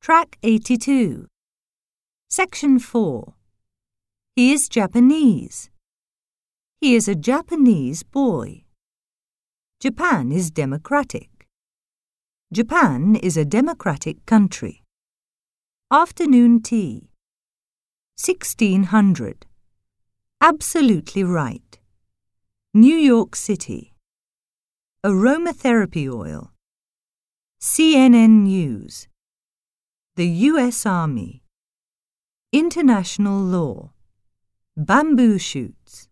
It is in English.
Track 82. Section 4. He is Japanese. He is a Japanese boy. Japan is democratic. Japan is a democratic country. Afternoon tea. 1600. Absolutely right. New York City. Aromatherapy oil. CNN News. The U.S. Army. International law. Bamboo shoots.